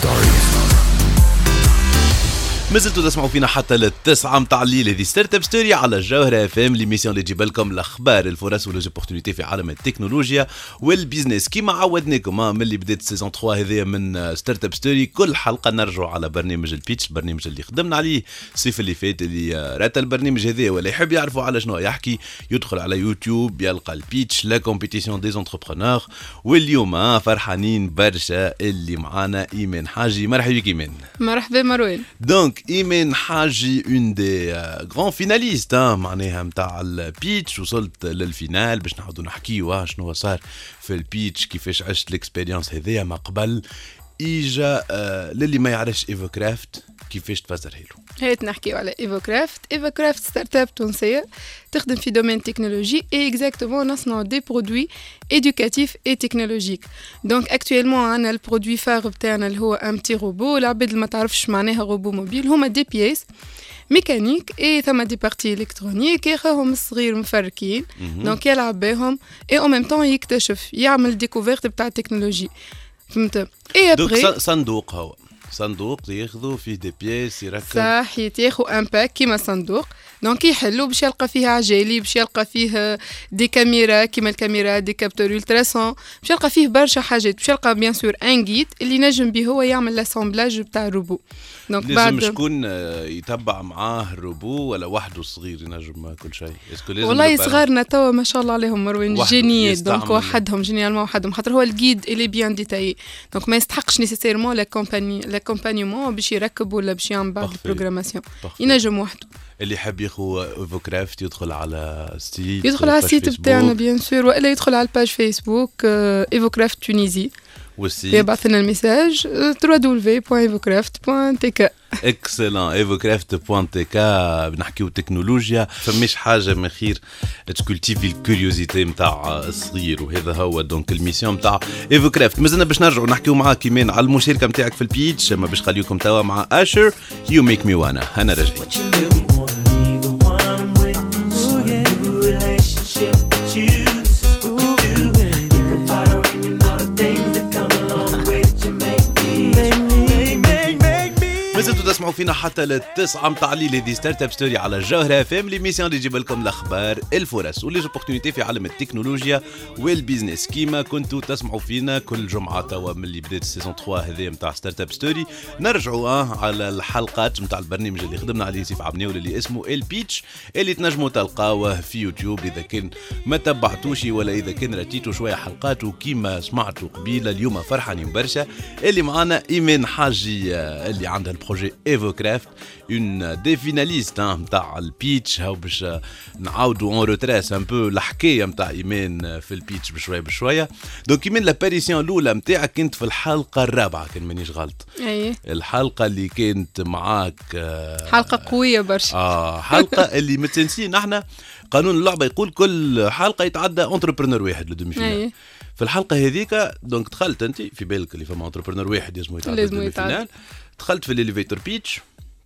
مازلتوا تسمعوا فينا حتى للتسعة متاع الليل. هذه ستارت اب ستوري على الجوهرة اف ام، ليميسيون اللي تجيب لكم الاخبار الفرص ولوزوبورتونيتي في عالم التكنولوجيا والبيزنس. كيما عودناكم ملي بدات سيزون 3 هذه من ستارت اب ستوري، كل حلقة نرجعوا على برنامج البيتش، البرنامج اللي خدمنا عليه الصيف اللي فات. اللي رات البرنامج هذا ولا يحب يعرفوا على شنو يحكي يدخل على يوتيوب يلقى البيتش لا كومبيتيسيون دي زونتربرونور. واليوم فرحانين برشا اللي معانا ايمان حاجي. مرحبا بك ايمان. مرحبا مروان. دونك إيمان حاجي اون دي غران فيناليست معناها متاع البيتش، وصلت للفينال باش نعاودو نحكيو شنو صار في البيتش، كيفاش عشت الاكسبيرينس هذيا ما قبل. إجا للي ما يعرفش إيفوكرافت كيفاش تفسرها له؟ هيت نحكيو على إيفوكرافت. إيفوكرافت ستارت اب تونسية تخدم في دومين تكنولوجي اي اكزاكتومون نصنعوا دي برودوي éducatifs et technologiques. دونك اكطويلمون عندنا البرودوي فار بتاعنا اللي هو ان بتي روبو. العباد اللي ما تعرفش معناها روبو موبيل هما دي بيس ميكانيك اي ثما دي بارتي الكترونيك ياخذهم الصغير مفركين دونك يلعب بهم اي او ميم طون يكتشف يعمل ديكوفيرت بتاع التكنولوجي. فهمت؟ اي ابري صندوق هو صندوق ياخذوا فيه دي بيس يركب صح ياخذوا ان باك كيما صندوق دونك يحلوا باش يلقى فيه عجالي باش يلقى فيه دي كاميرا كيما الكاميرا دي كابتور التراسون باش يلقى فيه برشا حاجات باش يلقى بيان سور ان جيد اللي نجم به هو يعمل لاسامبلاج بتاع الروبو. دونك لازم شكون يتبع معاه الروبو ولا وحده صغير ينجم كل شيء؟ والله صغارنا توا ما شاء الله عليهم مروان جينيات دونك وحدهم جينيالمون وحدهم خاطر هو الجيد اللي بيان ديتاي دونك ما يستحقش نيسيسيرمون لاكومبانيمون باش يركب ولا باش يعمل بعض البروغراماسيون ينجم وحده. اللي حاب ياخو ايفوكرافت يدخل على السيت يدخل على السيت بتاعنا بيان سور والا يدخل على الباج فيسبوك ايفوكرافت تونيزي والسيت يبعث لنا الميساج www.evocraft.tk. اكسلون evocraft.tk. بنحكيو تكنولوجيا فماش حاجه من خير تكولتيفي الكوريوزيتي نتاع الصغير وهذا هو دونك الميسيون نتاع ايفوكرافت. مازلنا باش نرجعوا نحكيو معاك كيمان على المشاركه نتاعك في البيتش اما باش خليكم توا مع اشر يو ميك مي وانا انا راجعين. مازلتوا تسمعوا فينا حتى للتسعة متاع الليل. هذه ستارت اب ستوري على الجوهرة اف ام، ليميسيون اللي تجيب لكم الاخبار الفرص وليزوبورتونيتي في عالم التكنولوجيا والبيزنس. كيما كنتوا تسمعوا فينا كل جمعة توا من اللي بدات السيزون 3 هذه متاع ستارت اب ستوري نرجعوا على الحلقات متاع البرنامج اللي خدمنا عليه سيف عبناول اللي اسمه البيتش اللي تنجموا تلقاوه في يوتيوب اذا كان ما تبعتوش ولا اذا كان رتيتوا شويه حلقات. وكيما سمعتوا قبيله اليوم فرحانين برشا اللي معانا ايمان حاجي اللي عندها البروجي ايفوكرافت اون دي فيناليست نتاع البيتش. هاو باش نعاودوا اون روتريس ان بو الحكايه نتاع ايمان في البيتش بشويه بشويه. دونك ايمان لاباريسيون الاولى نتاعك كنت في الحلقه الرابعه كان مانيش غلط. اي الحلقه اللي كانت معاك حلقه قويه برشا. حلقه اللي متنسين احنا قانون اللعبه يقول كل حلقه يتعدى انتربرونور واحد لدومي فينال. في الحلقه هذيك دونك دخلت انت في بالك اللي فما انتربرونور واحد لازم يتعدى لدومي فينال. دخلت في الاليفيتور بيتش.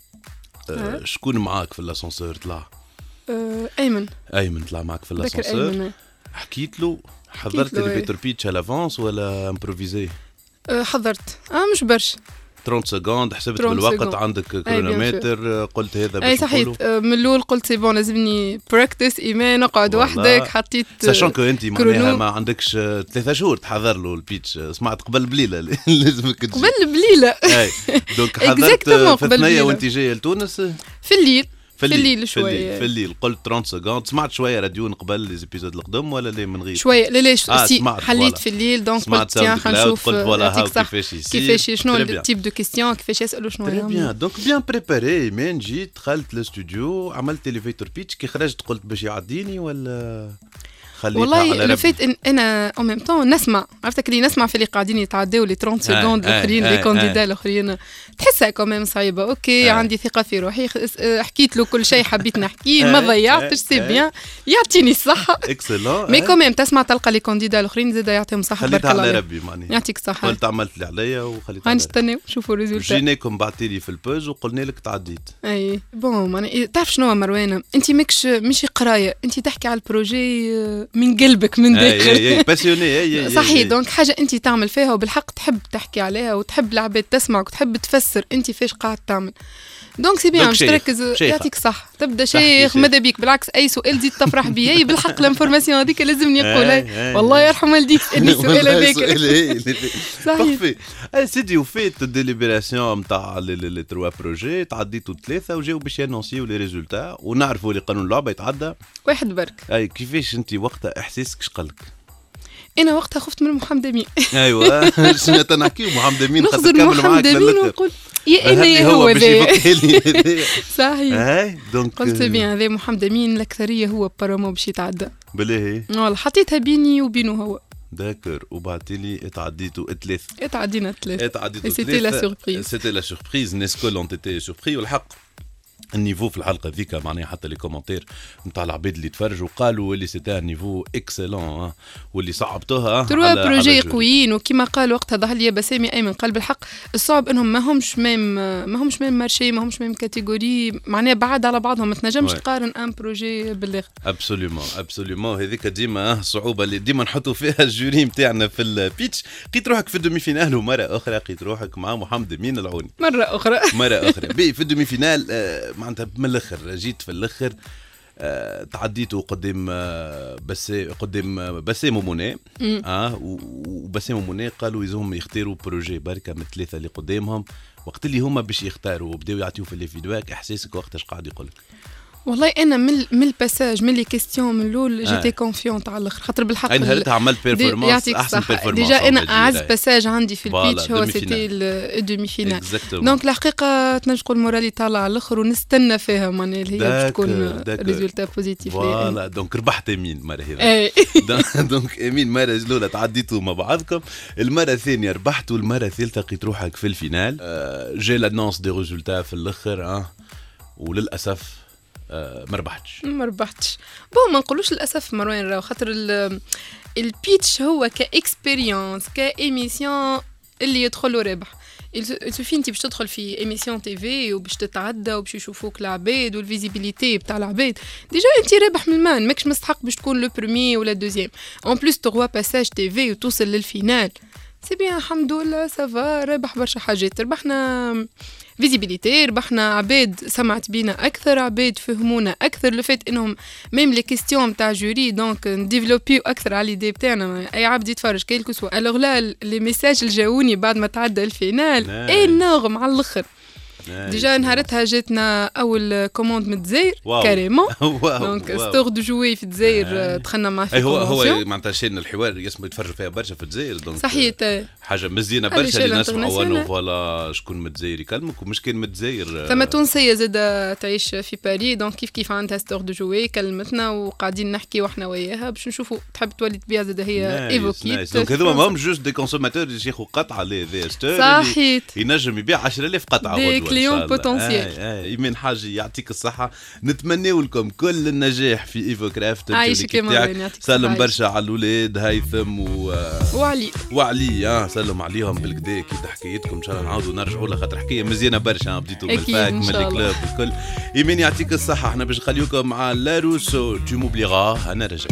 شكون معاك في الاسانسور طلع؟ ايمن طلع معاك في الاسانسور. حكيت له حضرت الاليفيتور بيتش على لافونس ولا امبروفيزي؟ حضرت مش برشا 30 سكوند حسبت بالوقت عندك كرونومتر قلت هذا باش اي صحيح من الاول قلت سي بون لازمني براكتس ايمان نقعد وحدك حطيت ساشون كو انت معناها ما عندكش 3 شهور تحضر له البيتش سمعت قبل بليله لازمك تجي قبل بليله اي دونك حضرت في ثنيه وانت جاي لتونس في الليل في الليل شويه في الليل قلت 30 سكوند سمعت شويه راديو قبل لي زيبيزود القدم ولا لي من غير شويه لا حليت في الليل دونك قلت تيان خنشوف كيفاش شنو التيب دو كيستيون كيفاش يسالوا شنو تري بيان دونك بيان بريباري من جيت دخلت الاستوديو عملت اليفيتور بيتش كي خرجت قلت باش يعديني ولا والله اللي فات انا او ميم طون نسمع عرفتك اللي نسمع في اللي قاعدين يتعداو لي 30 سكوند الاخرين لي كانديدا الاخرين تحسها كوميم صعيبه. اوكي عندي ثقه في روحي حكيت له كل شيء حبيت نحكيه ما ضيعتش سي بيان يعطيني الصحه اكسلون مي كوميم تسمع تلقى لي كانديدا الاخرين زاد يعطيهم الصحه بارك الله على ربي معناها يعطيك الصحه. قلت عملت اللي عليا وخليت غنستناو نشوفوا الريزولتا. جيناكم بعثتي لي في البوز وقلنا لك تعديت. اي بون معناها تعرف شنو مروانه انت مش قرايه انت تحكي على البروجي من قلبك من داخل باسيوني صحيح. دونك حاجه انت تعمل فيها وبالحق تحب تحكي عليها وتحب العباد تسمعك وتحب تفسر انت فاش قاعد تعمل. دونك سي بيان باش تركز يعطيك صح تبدا شيخ ماذا بيك بالعكس اي سؤال زيد تفرح بيه بالحق الانفورماسيون هذيك لازمني نقولها والله يرحم والديك اني سؤال هذاك صحيح. سيدي وفيت الديليبراسيون نتاع لي 3 بروجي تعديتوا 3 وجاو باش يانونسيو لي ريزولتا ونعرفوا اللي قانون اللعبه يتعدى واحد برك. اي كيفاش انت وقتها احساسك اش قالك؟ انا وقتها خفت من محمد امين. ايوه شنو تنحكيو محمد امين خاطر كمل معاك ونقول يا انا يا هو صحيح. دونك قلت بيان هذا محمد امين الاكثريه هو بارامو باش يتعدى بلاهي والله حطيتها بيني وبينه هو داكر وبعتيلي اتعديتوا 3 اتعدينا 3 سيتي لا سوربريز سيتي لا سوربريز الناس كل اون تيتي سوربري والحق النيفو في الحلقه ذيك معناها حتى لي كومونتير نتاع العباد اللي تفرجوا قالوا اللي سيتي ان نيفو اكسلون واللي صعبتوها 3 بروجي قويين وكما قال وقتها ظهر لي بسامي ايمن قال بالحق الصعب انهم ما همش ميم مارشي ما همش ميم كاتيجوري معناها بعاد على بعضهم ما تنجمش تقارن ان بروجي بالاخر. ابسوليومون هذيك ديما صعوبه اللي ديما نحطوا فيها الجوري نتاعنا في البيتش. لقيت روحك في الدومي فينال ومره اخرى لقيت روحك مع محمد امين العوني مره اخرى في الدومي فينال معناتها من الاخر جيت في الاخر تعديتوا قدام بسام ومنى وبسام ومنى قالوا يزهم يختاروا بروجي بركه من 3 اللي قدامهم وقت اللي هما باش يختاروا وبداو يعطيو في الفيدباك احساسك وقتاش قاعد يقولك؟ والله انا من الباساج من لي كيستيون من الاول جيتي كونفيونت على الاخر خاطر بالحق نهارتها عملت بيرفورمانس احسن بيرفورمانس ديجا انا اعز باساج عندي في البيتش هو سيتي الدومي فينال دونك الحقيقه تنجم تقول مورالي طالع على الاخر ونستنى فيها معناها هي باش تكون ريزولتا بوزيتيف. فوالا دونك ربحت امين مره هذه دونك امين مره الاولى تعديتوا مع بعضكم المره الثانيه ربحتوا المره الثالثه لقيت روحك في الفينال جي لانونس دي ريزولتا في الاخر وللاسف ما ربحتش بون ما نقولوش للاسف مروان راهو خاطر البيتش هو كاكسبيريونس كايميسيون اللي يدخلوا رابح السوفي انت باش تدخل في ايميسيون تي في وباش تتعدى وباش يشوفوك العباد والفيزيبيليتي بتاع العباد ديجا انت رابح من المان ماكش مستحق باش تكون لو بروميي ولا دوزيام اون بليس تغوا باساج تي في وتوصل للفينال سي بيان الحمد لله سافا ربح برشا حاجات ربحنا فيزيبيليتي ربحنا عباد سمعت بينا اكثر عباد فهمونا اكثر لو فات انهم ميم لي كيستيون تاع جوري دونك نديفلوبيو اكثر على ليدي تاعنا اي عبد يتفرج كيلكو سوا الوغ لا لي ميساج اللي جاوني بعد ما تعدى الفينال انورم على الاخر ديجا نهارتها جاتنا اول كوموند من الجزائر كاريمون دونك ستور دو جوي في الجزائر دخلنا معاه في هو معناتها شينا الحوار يسمو يتفرجوا فيها برشا في الجزائر دونك صحيح حاجه مزيانه برشا اللي نسمعوا انه فوالا شكون متزاير يكلمك ومش كان متزاير. ثم تونسيه زاده تعيش في باريس دونك كيف عندها ستور دو جوي كلمتنا وقاعدين نحكي واحنا وياها باش نشوفوا تحب تولي تبيع زاده هي ايفوكيت. دونك هذوما ماهم جوست دي كونسوماتور اللي ياخذوا قطعه لي ستور صحيح ينجم يبيع 10,000 قطعه دي كليون بوتنسيال. ايمان حاجه يعطيك الصحه نتمنوا لكم كل النجاح في ايفوكرافت. عايشك يا مريم سلم برشا على الاولاد هيثم وعلي سلم عليهم بالكدا كي حكايتكم ان شاء الله نعاودوا نرجعوا لها خاطر حكايه مزيانه برشا بديتوا من الفاك من الكلوب الكل. ايمان يعطيك الصحه احنا باش نخليوكم مع لاروسو تو موبليغا. انا رجع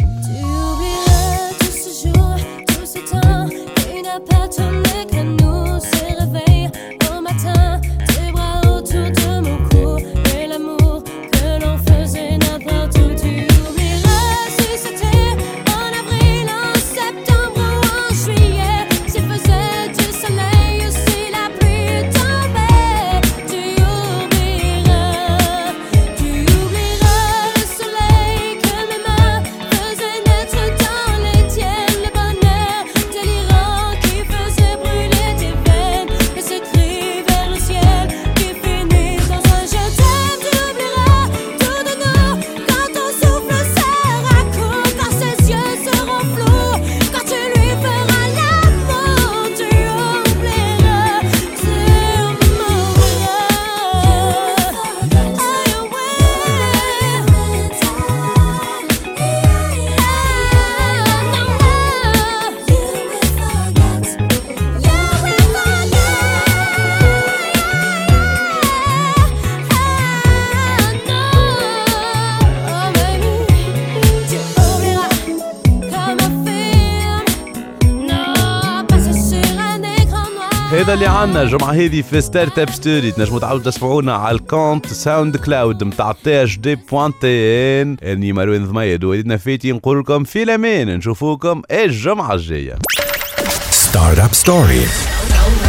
هذا اللي عنا الجمعة هذه في ستارت اب ستوري. تنجموا تعاودوا تسمعونا على الكونت ساوند كلاود متاع THD.TN. اني مروان ضميد وليدنا فاتي نقول لكم في الامان نشوفوكم الجمعة الجاية. ستارت اب ستوري.